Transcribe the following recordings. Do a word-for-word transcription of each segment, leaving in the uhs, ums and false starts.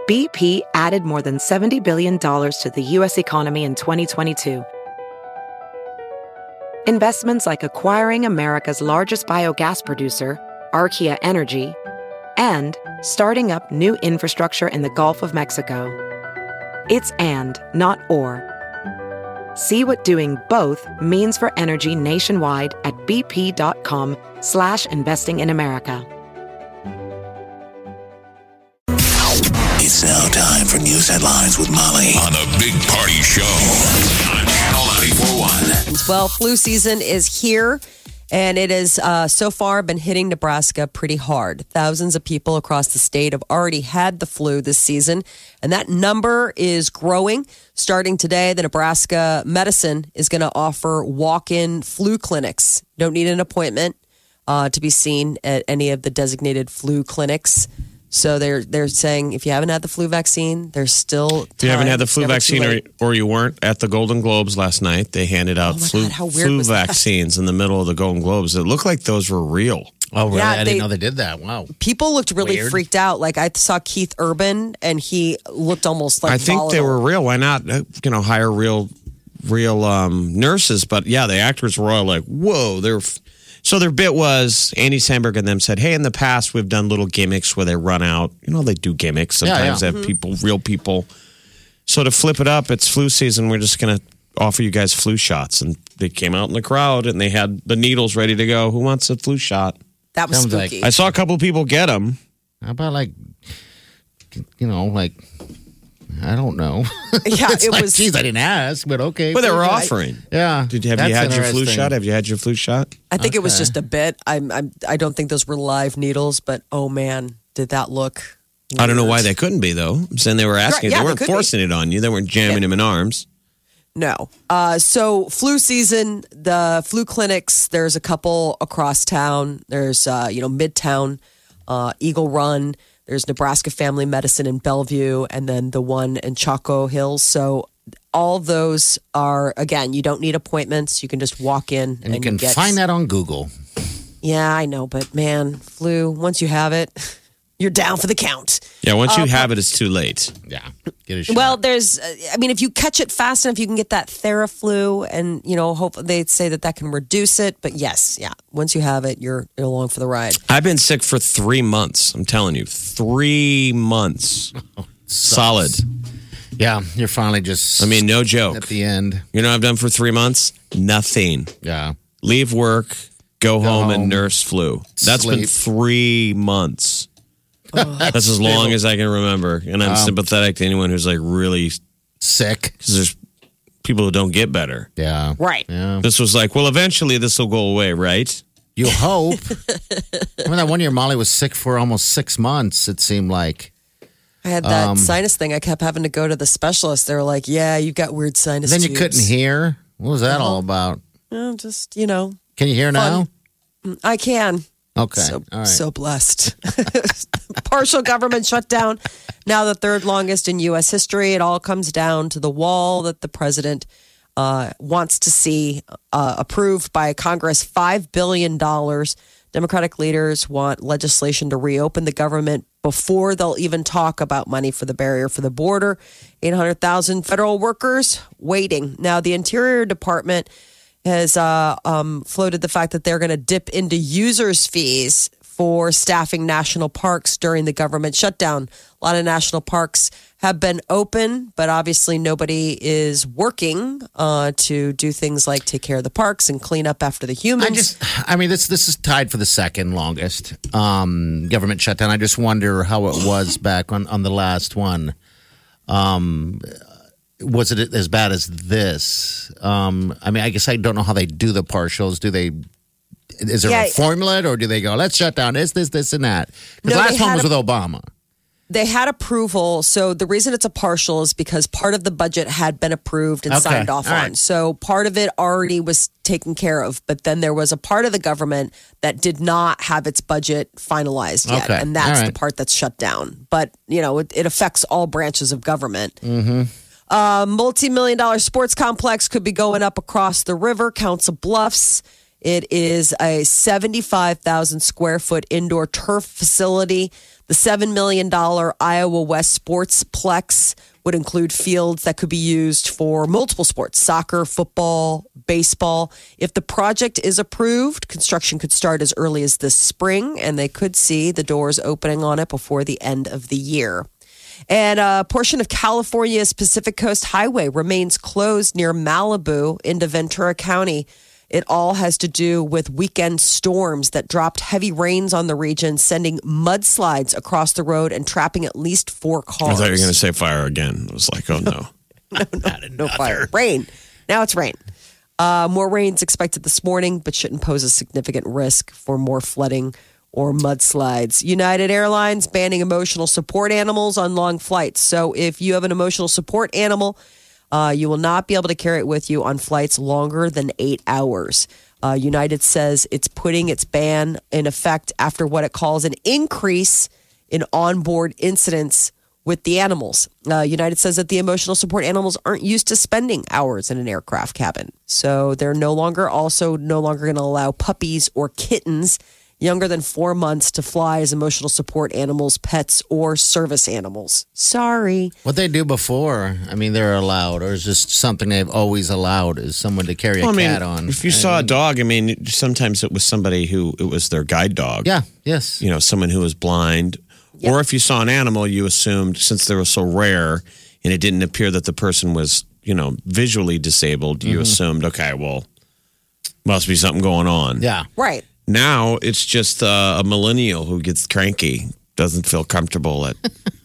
B P added more than seventy billion dollars to the U S economy in twenty twenty-two. Investments like acquiring America's largest biogas producer, Archaea Energy, and starting up new infrastructure in the Gulf of Mexico. It's and, not or. See what doing both means for energy nationwide at bp.com slash investing in America. It's now time for news headlines with Molly on a Big Party Show on Channel ninety-four point one. Well, flu season is here, and it has uh, so far been hitting Nebraska pretty hard. Thousands of people across the state have already had the flu this season, and that number is growing. Starting today, the Nebraska Medicine is going to offer walk-in flu clinics. You don't need an appointment uh, to be seen at any of the designated flu clinics. So they're they're saying if you haven't had the flu vaccine, there's still time. If you haven't had the It's flu never vaccine too or, late. or you weren't at the Golden Globes last night, they handed out Oh my flu, God, how weird flu was that? vaccines in the middle of the Golden Globes. It looked like those were real. Oh, really? Yeah, I they- didn't know they did that. Wow. People looked really Weird. freaked out. Like I saw Keith Urban, and he looked almost like I think they volatile. were real. Why not, uh, you know, hire real real um, nurses? But yeah, the actors were all like, whoa. They're f-. So their bit was, Andy Samberg and them said, hey, in the past, we've done little gimmicks where they run out. You know, they do gimmicks. Sometimes Yeah, yeah. they have people, real people. So to flip it up, it's flu season. We're just going to offer you guys flu shots. And they came out in the crowd and they had the needles ready to go. Who wants a flu shot? That was Sounds like- spooky. I saw a couple of people get them. How about like, you know, like, I don't know. Yeah, It's it like, was. Geez, I didn't ask, but okay. But they were I- offering. Yeah. Did have That's you had your flu interesting. shot? Have you had your flu shot? I think it was Okay. just a bit. I'm, I'm. I don't think those were live needles, but oh man, did that look? I don't know weird. why they couldn't be though. I'm saying they were asking. Right, yeah, they they weren't could be. forcing it on you. They weren't jamming them in arms. No. Uh, so flu season, the flu clinics. There's a couple across town. There's uh, you know Midtown, uh, Eagle Run. There's Nebraska Family Medicine in Bellevue, and then the one in Chaco Hills. So all those are, again, you don't need appointments. You can just walk in And you can get, find that on Google. Yeah, I know, but man, flu. Once you have it, you're down for the count. Yeah, once you have it, it's too late. Yeah. Get a shot. Well, there's, uh, I mean, if you catch it fast enough, you can get that Theraflu, and you know, hope they say that that can reduce it. But yes, yeah, once you have it, you're, you're along for the ride. I've been sick for three months. I'm telling you, three months, solid. Yeah, you're finally just I mean, no joke. at the end. You know what I've done for three months? Nothing. Yeah. Leave work, go, home, home, and nurse flu. That's been sleep. three months. That's as long as I can remember. And I'm sympathetic to anyone who's like really, Sick. because there's people who don't get better. Yeah. Right. Yeah. This was like, well, eventually this will go away, right? You hope. Remember that one year Molly was sick for almost six months, it seemed like. I had that Um, sinus thing. I kept having to go to the specialist. They were like, "Yeah, you've got weird sinus." Then you tubes." couldn't hear. What was that all about? Well, just you know, Can you hear now? I can. Okay. So, all right. so blessed. Partial government shutdown. Now the third longest in U S history. It all comes down to the wall that the president uh, wants to see uh, approved by Congress. Five billion dollars. Democratic leaders want legislation to reopen the government before they'll even talk about money for the barrier for the border. eight hundred thousand federal workers waiting. Now the Interior Department has uh, um, floated the fact that they're going to dip into users' fees for staffing national parks during the government shutdown. A lot of national parks have been open, but obviously nobody is working uh, to do things like take care of the parks and clean up after the humans. I just, I mean, this this is tied for the second longest um, government shutdown. I just wonder how it was back on, on the last one. Um, was it as bad as this? Um, I mean, I guess I don't know how they do the partials. Do they? Is there Yeah. a formula, or do they go, let's shut down this, this, this, and that? Because No, the they last one had was a- with Obama. They had approval. So the reason it's a partial is because part of the budget had been approved and Okay. signed off All on. right. So part of it already was taken care of. But then there was a part of the government that did not have its budget finalized yet. Okay. And that's All the right. part that's shut down. But, you know, it, it affects all branches of government. Mm-hmm. Uh, multi-million dollar sports complex could be going up across the river, Council Bluffs. It is a seventy-five thousand square foot indoor turf facility. The seven million dollars Iowa West Sportsplex would include fields that could be used for multiple sports, soccer, football, baseball. If the project is approved, construction could start as early as this spring, and they could see the doors opening on it before the end of the year. And a portion of California's Pacific Coast Highway remains closed near Malibu into Ventura County. It all has to do with weekend storms that dropped heavy rains on the region, sending mudslides across the road and trapping at least four cars. I thought you were going to say fire again. I was like, oh, no. no, no, no fire. Rain. Now it's rain. Uh, more rain's expected this morning, but shouldn't pose a significant risk for more flooding or mudslides. United Airlines banning emotional support animals on long flights. So if you have an emotional support animal, Uh, you will not be able to carry it with you on flights longer than eight hours. Uh, United says it's putting its ban in effect after what it calls an increase in onboard incidents with the animals. Uh, United says that the emotional support animals aren't used to spending hours in an aircraft cabin. So they're no longer also no longer going to allow puppies or kittens younger than four months to fly as emotional support animals, pets, or service animals. Sorry. What they do before, I mean, they're allowed, or is this something they've always allowed, is someone to carry a well, I mean, cat on? If you I saw mean, a dog, I mean, sometimes it was somebody who, it was their guide dog. Yeah, yes. You know, someone who was blind. Yep. Or if you saw an animal, you assumed, since they were so rare, and it didn't appear that the person was, you know, visually disabled, you Mm-hmm. assumed, okay, well, must be something going on. Yeah. Right. Now it's just uh, a millennial who gets cranky, doesn't feel comfortable at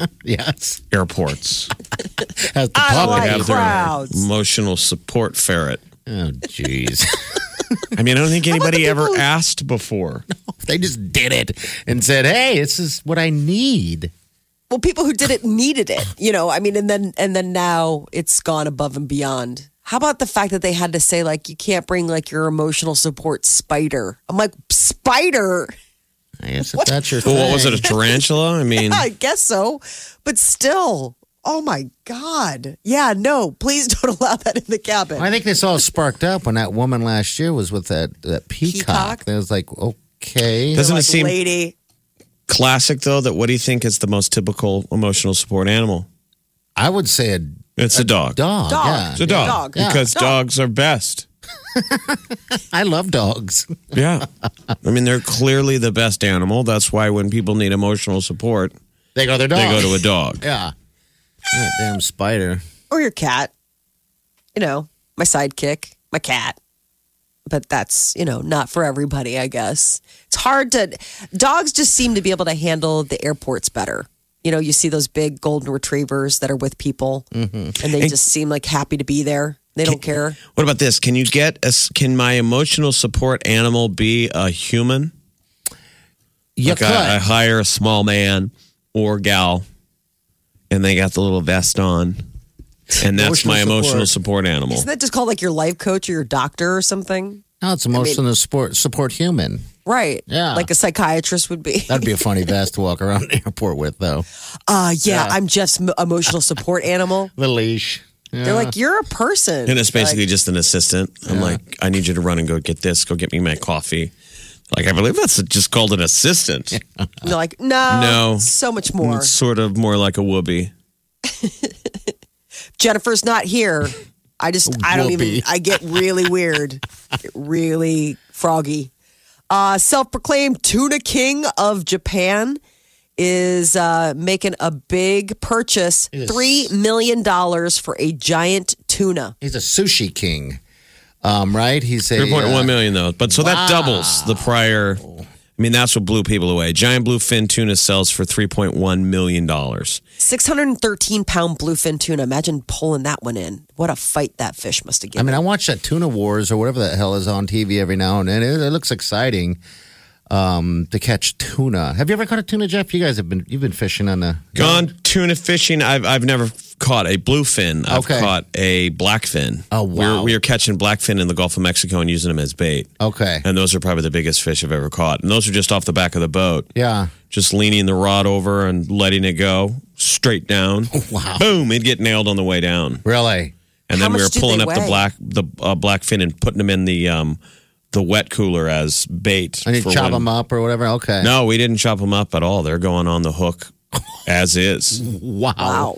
Yes. airports. Has the I don't public like have crowds. their emotional support ferret. Oh, jeez. I mean, I don't think anybody ever asked before. They just did it and said, hey, this is what I need. Well, people who did it needed it, you know. I mean, and then and then now it's gone above and beyond. How about the fact that they had to say, like, you can't bring, like, your emotional support spider? I'm like, spider? I guess if that's your thing. Well, what was it, a tarantula? I mean, I guess so. But still, oh, my God. Yeah, no, please don't allow that in the cabin. I think this all sparked up when that woman last year was with that, that peacock. Peacock? It was like, okay. doesn't Like, it seem lady. classic, though, that what do you think is the most typical emotional support animal? I would say a It's a, dog. dog. Dog. Yeah. It's a dog. Dog. Yeah. Because Dog. dogs are best. I love dogs. Yeah. I mean, they're clearly the best animal. That's why when people need emotional support, They go to their dog. they go to a dog. Yeah. That damn spider. Or your cat. You know, my sidekick, my cat. But that's, you know, not for everybody, I guess. It's hard to... Dogs just seem to be able to handle the airports better. You know, you see those big golden retrievers that are with people, and they just seem like happy to be there. They don't care. What about this? Can you get a, can my emotional support animal be a human? You Like could. I, I hire a small man or gal, and they got the little vest on, and that's Emotional my emotional support. support animal. Isn't that just called like your life coach or your doctor or something? no, it's emotional support, support human. Right. Yeah. Like a psychiatrist would be. That'd be a funny vest to walk around the airport with, though. Uh, yeah, I'm Jeff's m- emotional support animal. The leash. Yeah. They're like, you're a person. And it's basically Like, just an assistant. I'm like, I need you to run and go get this. Go get me my coffee. Like, I believe that's just called an assistant. they're like, no, No. so much more. It's sort of more like a whoopee. Jennifer's not here. I just, I don't even, Whoopee. I get really weird, Get really froggy. Uh, self-proclaimed tuna king of Japan is uh, making a big purchase, Yes. three million dollars for a giant tuna. He's a sushi king, um, right? He's a Three point uh, one million though. But so that doubles the prior. I mean, that's what blew people away. Giant bluefin tuna sells for three point one million dollars. six hundred thirteen pound bluefin tuna. Imagine pulling that one in. What a fight that fish must have I given. mean, I watch that Tuna Wars or whatever the hell is on T V every now and then. It, it looks exciting um, to catch tuna. Have you ever caught a tuna, Jeff? You guys have been you've been fishing on the Gone tuna fishing. I've I've never caught a bluefin. I've Okay. caught a blackfin. Oh, We wow. were, we were catching blackfin in the Gulf of Mexico and using them as bait. Okay, And those are probably the biggest fish I've ever caught. And those are just off the back of the boat. yeah. Just leaning the rod over and letting it go straight down. Wow. Boom! It'd get nailed on the way down. Really? And How then we much were do pulling they up the weigh? black the uh, blackfin and putting them in the um, the wet cooler as bait. And you for chop when- them up or whatever? Okay. No, we didn't chop them up at all. They're going on the hook as is. Wow. Wow.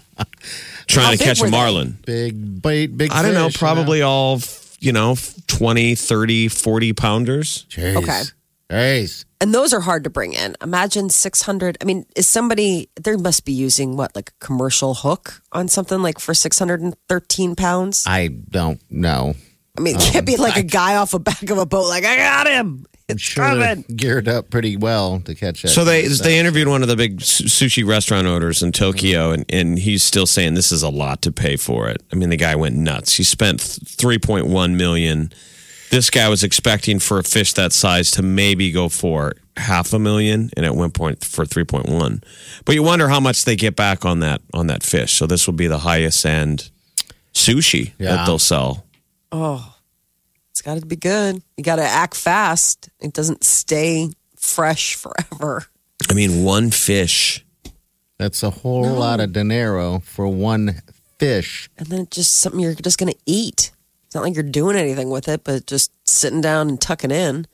Trying How to big catch a were they? marlin. Big bait, big I don't know, fish, probably all, you know, twenty, thirty, forty pounders. Jeez. Okay. Jeez. And those are hard to bring in. Imagine six hundred. I mean, is somebody, they must be using what, like a commercial hook on something like for six hundred thirteen pounds? I don't know. I mean, it can't be like a guy off the back of a boat, like, I got him. I'm It's sure they're coming. geared up pretty well to catch that. So they stuff. they interviewed one of the big su- sushi restaurant owners in Tokyo, and, and he's still saying this is a lot to pay for it. I mean, the guy went nuts. He spent three point one million. This guy was expecting for a fish that size to maybe go for half a million, and at one point for three point one. But you wonder how much they get back on that on that fish. So this will be the highest end sushi Yeah. that they'll sell. Oh, it's got to be good. You got to act fast. It doesn't stay fresh forever. I mean, one fish. That's a whole lot of dinero for one fish. And then it's just something you're just going to eat. It's not like you're doing anything with it, but just sitting down and tucking in.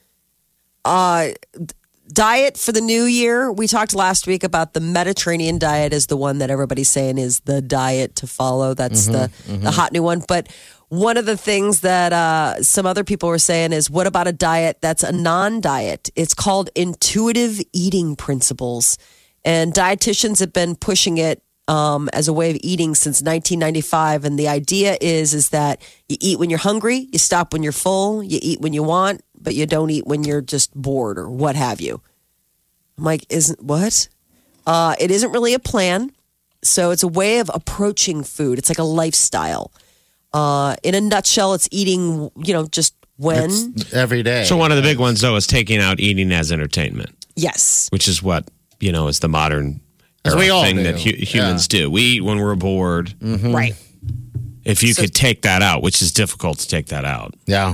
Uh, diet for the new year. We talked last week about the Mediterranean diet is the one that everybody's saying is the diet to follow. That's the, the hot new one. But one of the things that uh, some other people were saying is, what about a diet that's a non-diet? It's called intuitive eating principles. And dietitians have been pushing it um, as a way of eating since nineteen ninety-five. And the idea is, is that you eat when you're hungry, you stop when you're full, you eat when you want, but you don't eat when you're just bored or what have you. I'm like, isn't what? Uh, it isn't really a plan. So it's a way of approaching food. It's like a lifestyle. Uh, in a nutshell, it's eating, you know, just when. It's every day. So one of the big ones, though, is taking out eating as entertainment, Yes. which is what, you know, is the modern As era we all thing do. that hu- humans do. We eat when we're bored. Right. If you So- could take that out, which is difficult to take that out. yeah.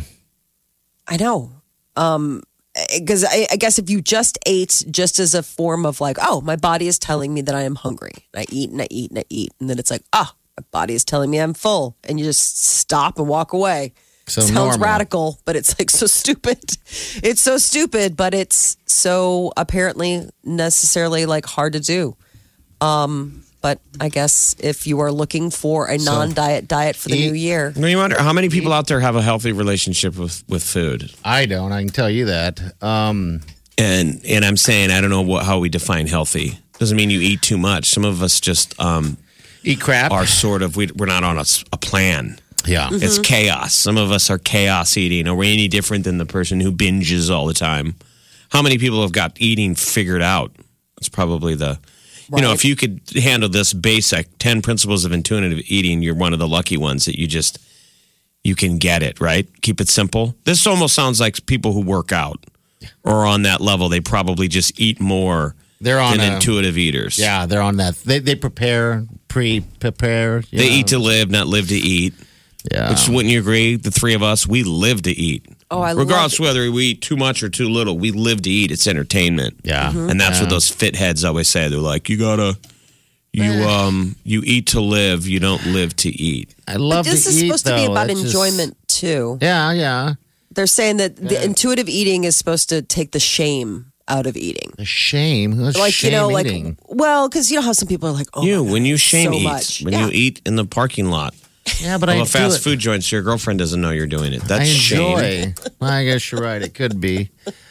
I know. Um, because I, I guess if you just ate just as a form of like, oh, my body is telling me that I am hungry. And I eat and I eat and I eat. And then it's like, ah, my body is telling me I'm full. And you just stop and walk away. So Sounds normal. radical, but it's like so stupid. It's so stupid, but it's so apparently necessarily like hard to do. Um, but I guess if you are looking for a non-diet diet for the eat- new year, I mean, you wonder how many people out there have a healthy relationship with, with food. I don't. I can tell you that. Um, And and I'm saying I don't know what, how we define healthy. Doesn't mean you eat too much. Some of us just um, eat crap. are sort of we, we're not on a, s- a plan. yeah. It's chaos. Some of us are chaos eating. Are we any different than the person who binges all the time? How many people have got eating figured out? It's probably the, you know, Right. if you could handle this basic ten principles of intuitive eating, you're one of the lucky ones that you just, you can get it, right? Keep it simple. This almost sounds like people who work out or on that level. They probably just eat more They're on than a- intuitive eaters. Yeah, they're on that. They they prepare, pre-prepare. you They know. eat to live, not live to eat. Yeah. Which wouldn't you agree? The three of us, we live to eat. Oh, I love Regardless it. whether we eat too much or too little, we live to eat. It's entertainment. Yeah. Mm-hmm. And that's Yeah. what those fit heads always say. They're like, you gotta, you um, you eat to live. You don't live to eat. I love this to is eat, supposed to be though. about That's just- enjoyment too. Yeah, yeah. They're saying that the intuitive eating is supposed to take the shame out of eating. The shame. Who's Like, shame you know, eating? like, well, because you know how some people are like, oh, you my when God, you shame so eat, much. when Yeah. you eat in the parking lot yeah, but of I a fast do it. food joint, so your girlfriend doesn't know you're doing it. That's I shame. enjoy. Well, I guess you're right. It could be.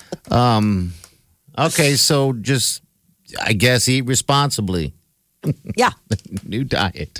Um, okay, so just I guess eat responsibly. Yeah. New diet.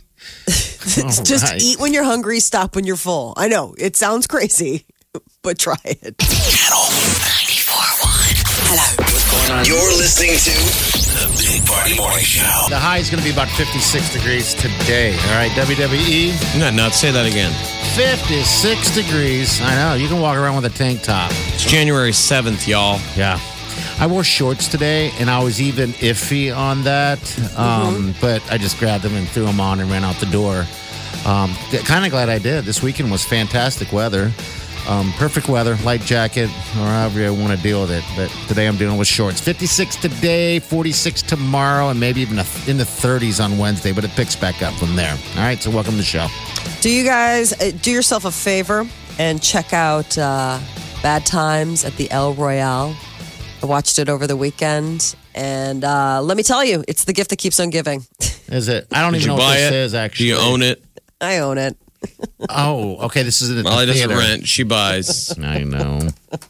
Just right. eat when you're hungry, stop when you're full. I know it sounds crazy, but try it. Channel ninety-four point one. Hello. What's going on? You're listening to the Big Party Morning Show. The high is going to be about fifty-six degrees today. All right, W W E, No, no, say that again. fifty-six degrees. I know. You can walk around with a tank top. It's January seventh, y'all. Yeah. I wore shorts today, and I was even iffy on that. Um, But I just grabbed them and threw them on and ran out the door. Um, kind of glad I did. This weekend was fantastic weather. Um, perfect weather, light jacket, or however you want to deal with it. But today I'm dealing with shorts. fifty-six today, forty-six tomorrow, and maybe even in the thirties on Wednesday, but it picks back up from there. All right, so welcome to the show. Do you guys uh, do yourself a favor and check out uh, Bad Times at the El Royale. I watched it over the weekend, and uh, let me tell you, it's the gift that keeps on giving. Is it? I don't Did even you know what buy this it? is, actually. Do you own it? I own it. Oh, okay. This is at the Molly doesn't theater. rent. She buys. I know.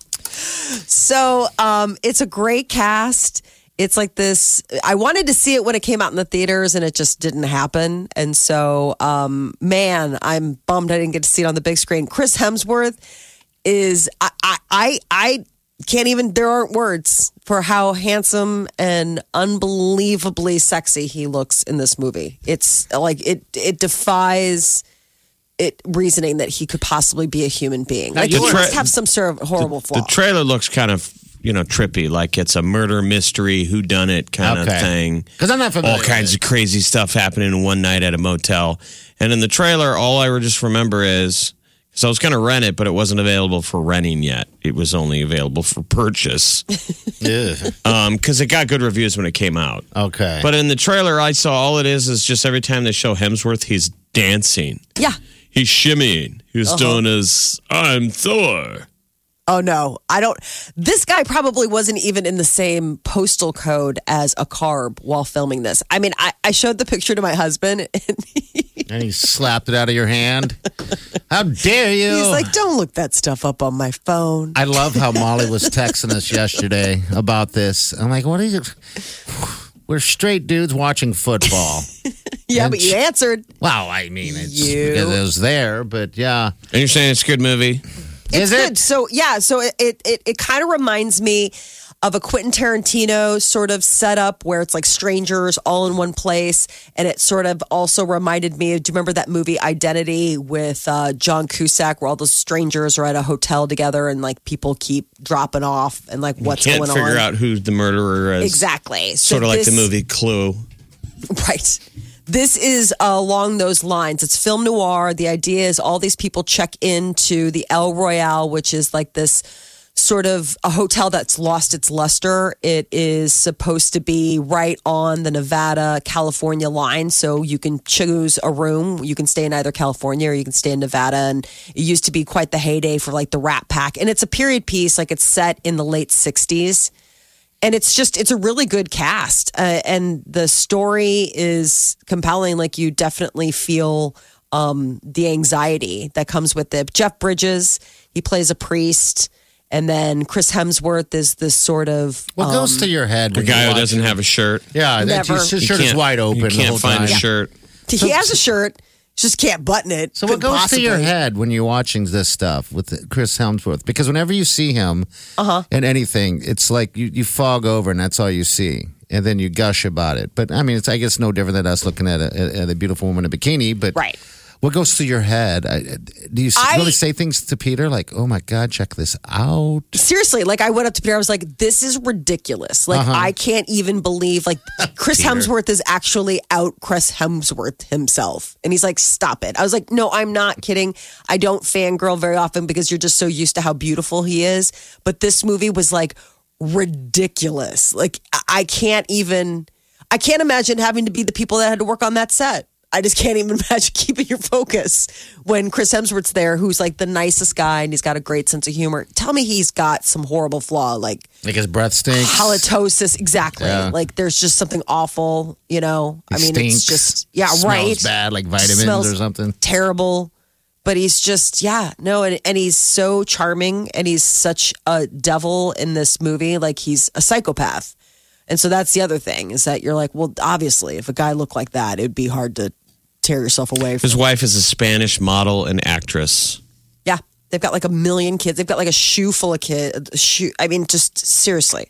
So um, it's a great cast. It's like this. I wanted to see it when it came out in the theaters, and it just didn't happen. And so, um, man, I'm bummed I didn't get to see it on the big screen. Chris Hemsworth is I I I, I can't even. There aren't words for how handsome and unbelievably sexy he looks in this movie. It's like it it defies. It reasoning that he could possibly be a human being. Like you he were- must have some sort of horrible flaw. The trailer looks kind of, you know, trippy, like it's a murder mystery, whodunit kind Okay. of thing. Because I'm not familiar All kinds with of crazy stuff happening in one night at a motel. And in the trailer, all I just remember is, because I was going to rent it, but it wasn't available for renting yet. It was only available for purchase it. because it got good reviews when it came out. Okay. But in the trailer, I saw all it is is just every time they show Hemsworth, he's dancing. yeah. He's shimmying. He's Uh-huh. doing his, I'm Thor. Oh no, I don't. This guy probably wasn't even in the same postal code as a carb while filming this. I mean, I, I showed the picture to my husband, and he, and he slapped it out of your hand. How dare you? he's like, "Don't look that stuff up on my phone." I love how Molly was texting us yesterday about this. I'm like, what are you? We're straight dudes watching football. yeah, and but you sh- answered. Well, I mean, it's You. because it was there, but yeah. And you're saying it's a good movie? It's Is good. it? So yeah, so it it it, it kind of reminds me of a Quentin Tarantino sort of setup where it's like strangers all in one place, and it sort of also reminded me. Do you remember that movie Identity with uh, John Cusack, where all those strangers are at a hotel together and like people keep dropping off and like what's Can't going figure on? out who the murderer is. Exactly. So Sort of like this- the movie Clue. Right. This is uh, along those lines. It's film noir. The idea is all these people check into the El Royale, which is like this sort of a hotel that's lost its luster. It is supposed to be right on the Nevada California line. So you can choose a room. You can stay in either California or you can stay in Nevada. And it used to be quite the heyday for like the Rat Pack. And it's a period piece, like it's set in the late sixties. And it's just, it's a really good cast. Uh, and the story is compelling. Like you definitely feel um, the anxiety that comes with it. Jeff Bridges, he plays a priest. And then Chris Hemsworth is this sort of. What um, goes to your head? The when you guy who watch doesn't it? have a shirt. Yeah, that- Never. his his You shirt is can't- wide open. You the can't whole find time. a shirt. He has a shirt, just can't button it. So what Couldn't goes to your possibly. head when you're watching this stuff with Chris Hemsworth? Because whenever you see him Uh-huh. in anything, it's like you, you fog over and that's all you see. And then you gush about it. But I mean, it's I guess no different than us looking at a, at a beautiful woman in a bikini. But Right. what goes through your head? I, do you s- I- really say things to Peter like, oh my God, check this out? Seriously, like I went up to Peter, I was like, this is ridiculous. Like, I can't even believe, like, Chris Peter. Hemsworth is actually out Chris Hemsworth himself. And he's like, stop it. I was like, no, I'm not kidding. I don't fangirl very often because you're just so used to how beautiful he is. But this movie was like ridiculous. Like, I- I can't even, I can't imagine having to be the people that had to work on that set. I just can't even imagine keeping your focus when Chris Hemsworth's there, who's like the nicest guy and he's got a great sense of humor. Tell me he's got some horrible flaw, like Like his breath stinks. halitosis. Exactly. Yeah. Like there's just something awful, you know? I He mean, stinks, it's just, yeah, smells right. bad, like vitamins Smells or something. Terrible. But he's just, yeah, no, and, and he's so charming and he's such a devil in this movie. Like he's a psychopath. And so that's the other thing is that you're like, well, obviously, if a guy looked like that, it'd be hard to tear yourself away from. His wife is a Spanish model and actress. Yeah, they've got like a million kids. They've got like a shoe full of kids. Shoe. I mean, just seriously,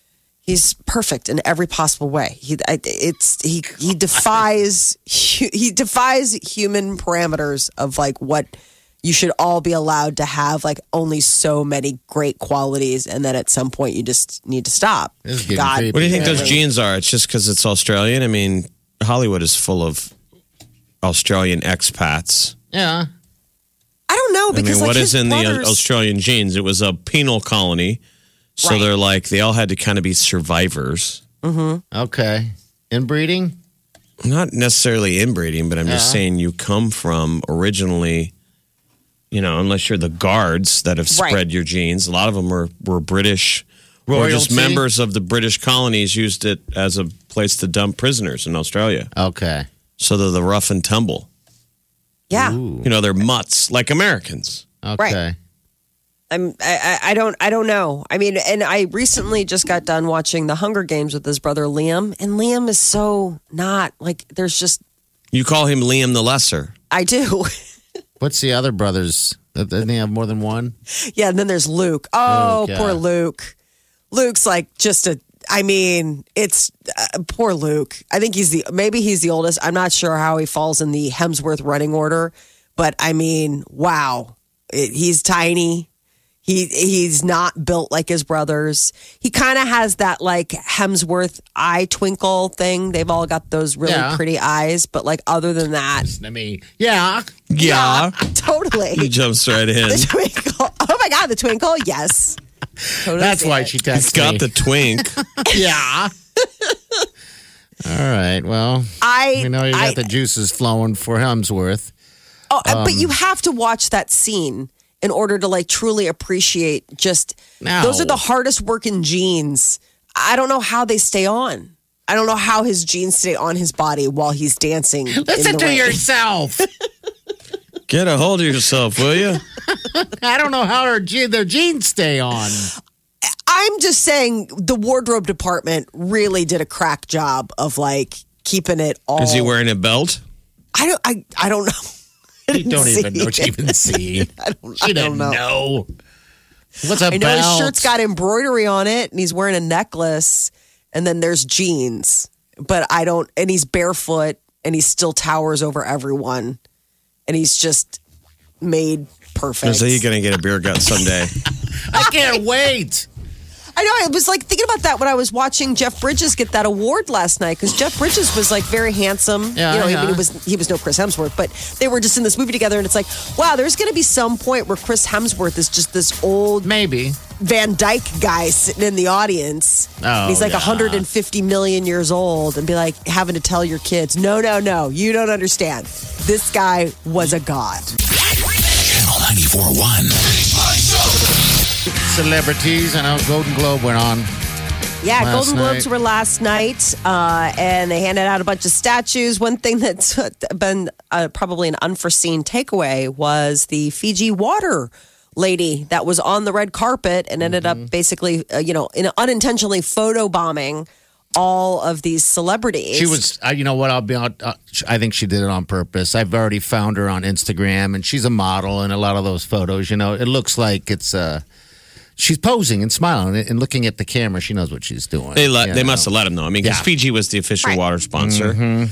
he's perfect in every possible way. He, I, it's he, he defies he defies human parameters of like what you should all be allowed to have. Like only so many great qualities, and then at some point you just need to stop. This is getting God, creepy. What do you think those really. genes are? It's just because it's Australian? I mean, Hollywood is full of Australian expats. Yeah. I don't know I because mean, like what his is in the brothers- uh, Australian genes? It was a penal colony. So Right. they're like, they all had to kind of be survivors. Okay. Inbreeding? Not necessarily inbreeding, but I'm just Yeah. saying you come from originally you know, unless you're the guards that have spread Right. your genes. A lot of them were, were British or just Royalty? members of the British colonies used it as a place to dump prisoners in Australia. Okay. So they're the rough and tumble. Yeah. Ooh. You know, they're mutts like Americans. Okay. I'm I, I I don't I don't know. I mean, and I recently just got done watching The Hunger Games with his brother Liam, and Liam is so not like there's just You call him Liam the Lesser. I do. What's the other brothers? Didn't they have more than one? Yeah, and then there's Luke. Oh, Luke, yeah. poor Luke. Luke's like just a I mean, it's uh, poor Luke. I think he's the maybe he's the oldest. I'm not sure how he falls in the Hemsworth running order, but I mean, wow. It, he's tiny. He he's not built like his brothers. He kind of has that like Hemsworth eye twinkle thing. They've all got those really Yeah. pretty eyes, but like other than that, I mean, yeah. Yeah. totally. He jumps right in. The twinkle. Oh my god, the twinkle. Yes. Totally That's see why it. she He's texted got me. the twink. yeah. All right. Well, I we know you got I, the juices flowing for Hemsworth. Oh, uh, but Um, you have to watch that scene in order to like truly appreciate just No. those are the hardest working genes. I don't know how they stay on. I don't know how his genes stay on his body while he's dancing. Listen in the to rain. yourself. Get a hold of yourself, will you? I don't know how her ge- their genes stay on. I'm just saying the wardrobe department really did a crack job of like keeping it all. Is he wearing a belt? I don't. I. I don't know. I You didn't don't see even know what you it. even see. I don't, She I didn't don't know. know. What's a I know belt? his shirt's got embroidery on it, and he's wearing a necklace, and then there's jeans. But I don't, and he's barefoot, and he still towers over everyone, and he's just made perfect. So you're going to get a beer gut someday. I can't wait. I know. I was like thinking about that when I was watching Jeff Bridges get that award last night because Jeff Bridges was like very handsome. Yeah, you know, yeah. I mean, he was he was no Chris Hemsworth, but they were just in this movie together, and it's like, wow, there's going to be some point where Chris Hemsworth is just this old Maybe. Van Dyke guy sitting in the audience. Oh, He's like yeah. one hundred fifty million years old and be like having to tell your kids, no, no, no, you don't understand. This guy was a god. Channel ninety-four point one. Celebrities. I know Golden Globe went on. Yeah, Last Golden Globes night. were last night, uh, and they handed out a bunch of statues. One thing that's been uh, probably an unforeseen takeaway was the Fiji water lady that was on the red carpet and ended Mm-hmm. up basically, uh, you know, in unintentionally photo bombing all of these celebrities. She was, uh, you know what? I'll be on. Uh, I think she did it on purpose. I've already found her on Instagram, and she's a model in a lot of those photos. You know, it looks like it's. Uh, she's posing and smiling and, and looking at the camera. She knows what she's doing. They let, you they know. must have let him know. I mean, because Yeah. Fiji was the official Right. water sponsor.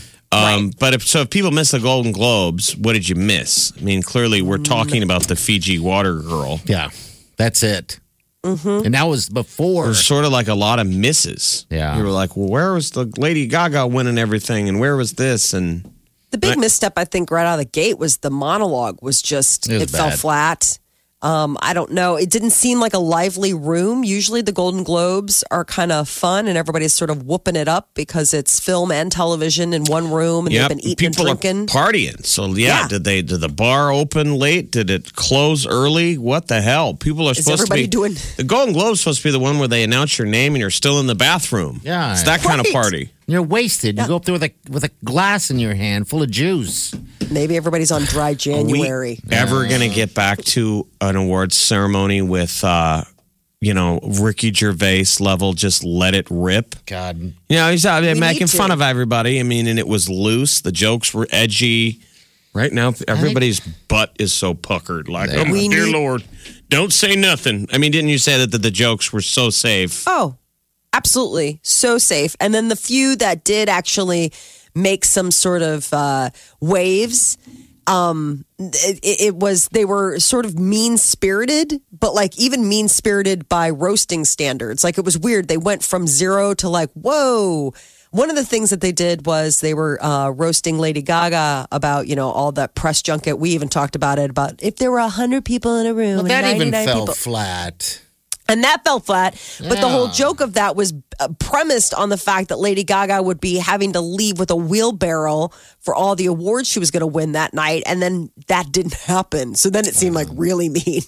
Um, But if so, if people miss the Golden Globes, what did you miss? I mean, clearly we're talking about the Fiji water girl. Yeah, that's it. Mm-hmm. And that was before. There's sort of like a lot of misses. Yeah. you were like, well, where was the Lady Gaga winning everything, and where was this? And The big Right. misstep, I think, right out of the gate was the monologue was just, It it, was fell bad. flat. Um, I don't know. It didn't seem like a lively room. Usually the Golden Globes are kind of fun and everybody's sort of whooping it up because it's film and television in one room and yeah, they've been eating people and drinking. are partying. So yeah, Yeah. did they? Did the bar open late? Did it close early? What the hell? People are Is supposed to everybody be doing- The Golden Globe's supposed to be the one where they announce your name and you're still in the bathroom. Yeah. it's that kind of Right. party. You're wasted. You go up there with a with a glass in your hand full of juice. Maybe everybody's on dry January. We ever going to get back to an awards ceremony with, uh, you know, Ricky Gervais level? Just let it rip. God. You know, he's out there We making need to. fun of everybody. I mean, and it was loose. The jokes were edgy. Right now, everybody's butt is so puckered. Like, oh my We dear need- Lord, don't say nothing. I mean, didn't you say that the, the jokes were so safe? Oh, absolutely. So safe. And then the few that did actually make some sort of uh, waves, um, it, it was, they were sort of mean spirited, but like even mean spirited by roasting standards. Like it was weird. They went from zero to like, whoa. One of the things that they did was they were uh, roasting Lady Gaga about, you know, all that press junket. We even talked about it, about if there were one hundred people in a room. Well, and that even ninety-nine fell people. flat. And that fell flat. But the Yeah. whole joke of that was uh, premised on the fact that Lady Gaga would be having to leave with a wheelbarrow for all the awards she was going to win that night. And then that didn't happen. So then it seemed like really mean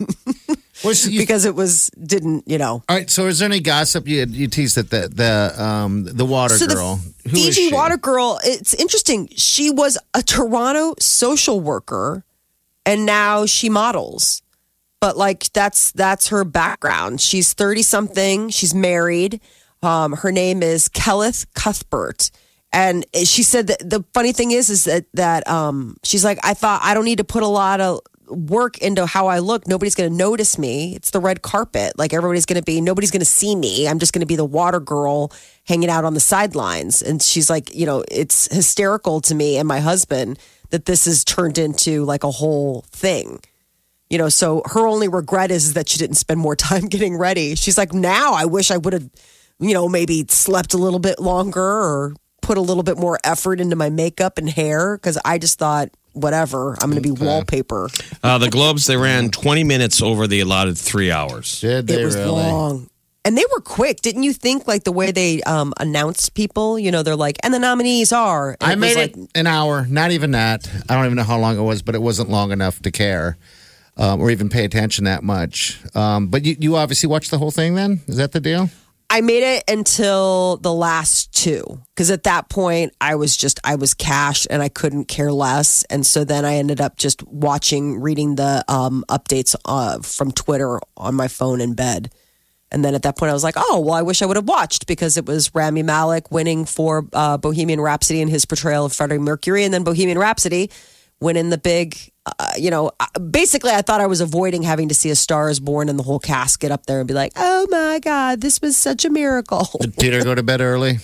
Was you- because it was, didn't, you know. All right. So, is there any gossip you you teased that the the um the water So girl? the Who is Fiji she? water girl, it's interesting. She was a Toronto social worker and now she models. But like that's that's her background. She's thirty something. She's married. Um, her name is Kelleth Cuthbert. And she said that the funny thing is is that that um, she's like, I thought I don't need to put a lot of work into how I look. Nobody's going to notice me. It's the red carpet. Like everybody's going to be, nobody's going to see me. I'm just going to be the water girl hanging out on the sidelines. And she's like, you know, it's hysterical to me and my husband that this has turned into like a whole thing. You know, so her only regret is that she didn't spend more time getting ready. She's like, now I wish I would have, you know, maybe slept a little bit longer or put a little bit more effort into my makeup and hair because I just thought, whatever, I'm going to be wallpaper. Uh, the Globes, they ran twenty minutes over the allotted three hours. Did they It was really? long. And they were quick. Didn't you think like the way they um, announced people, you know, they're like, and the nominees are. And I was made like, it an hour. Not even that. I don't even know how long it was, but it wasn't long enough to care um, or even pay attention that much. Um, but you, you obviously watched the whole thing then? Is that the deal? I made it until the last two because at that point I was just I was cash and I couldn't care less, and so then I ended up just watching, reading the um, updates uh, from Twitter on my phone in bed, and then at that point I was like, oh well, I wish I would have watched because it was Rami Malek winning for uh, Bohemian Rhapsody and his portrayal of Freddie Mercury, and then Bohemian Rhapsody winning the big. Uh, you know, basically, I thought I was avoiding having to see A Star Is Born and the whole cast get up there and be like, "Oh my God, this was such a miracle." Did Peter go to bed early?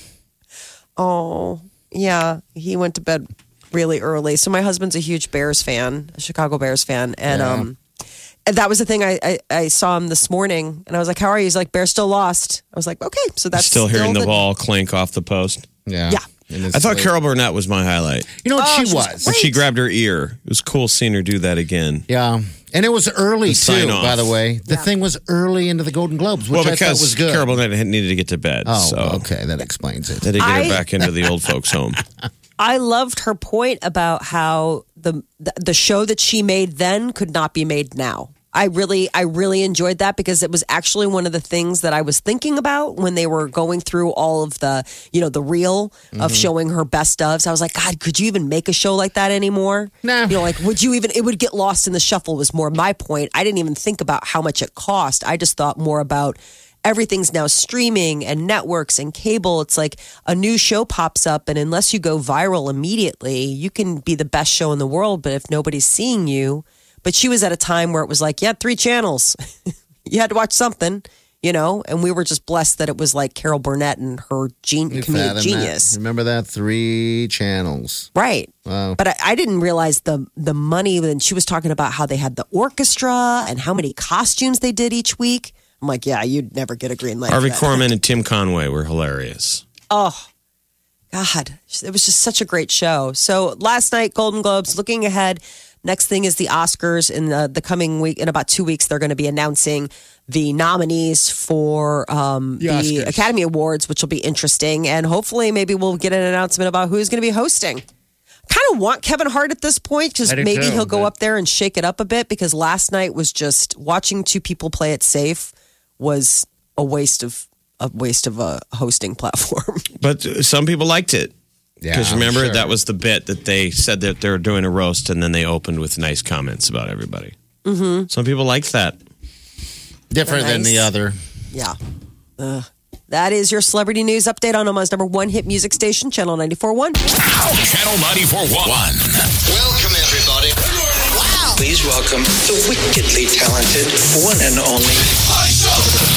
Oh, yeah, he went to bed really early. So my husband's a huge Bears fan, a Chicago Bears fan, and Yeah. um, and that was the thing. I, I I saw him this morning, and I was like, "How are you?" He's like, "Bears still lost." I was like, "Okay, so that's Still hearing the the ball clink off the post. Yeah. Yeah. In his I thought sleep. Carol Burnett was my highlight. You know what Oh, she she's was? When she grabbed her ear, it was cool seeing her do that again. Yeah. And it was early, The too, sign-off. by the way. The thing was early into the Golden Globes, which Well, I thought because was good. Carol Burnett had- needed to get to bed. oh, so okay. That explains it. they had to get I- her back into the old folks' home. I loved her point about how the the show that she made then could not be made now. I really, I really enjoyed that because it was actually one of the things that I was thinking about when they were going through all of the, you know, the reel of showing her best ofs. I was like, God, could you even make a show like that anymore? No. You know, like, would you even, it would get lost in the shuffle was more my point. I didn't even think about how much it cost. I just thought more about everything's now streaming and networks and cable. It's like a new show pops up, and unless you go viral immediately, you can be the best show in the world, but if nobody's seeing you, but she was at a time where it was like, yeah, three channels. You had to watch something, you know, and we were just blessed that it was like Carol Burnett and her gen- You comedic fathom genius. that? Remember that? Three channels. Right. Wow. But I, I didn't realize the the money when she was talking about how they had the orchestra and how many costumes they did each week. I'm like, yeah, you'd never get a green light. Harvey for that. Korman and Tim Conway were hilarious. Oh, God. It was just such a great show. So last night, Golden Globes, looking ahead. Next thing is the Oscars in the, the coming week. In about two weeks, they're going to be announcing the nominees for um, The the, Oscars. Academy Awards, which will be interesting. And hopefully, maybe we'll get an announcement about who's going to be hosting. Kind of want Kevin Hart at this point because I do maybe too, he'll go but- up there and shake it up a bit. Because last night was just watching two people play it safe was a waste of a waste of a hosting platform. But some people liked it. Because I'm remember, sure. that was the bit that they said that they were doing a roast and then they opened with nice comments about everybody. Mm-hmm. Some people liked that. Different than Nice. the other. Yeah. Ugh. That is your celebrity news update on Omaha's number one hit music station, Channel ninety-four point one. Channel ninety-four point one. Welcome, everybody. Wow. Please welcome the wickedly talented one and only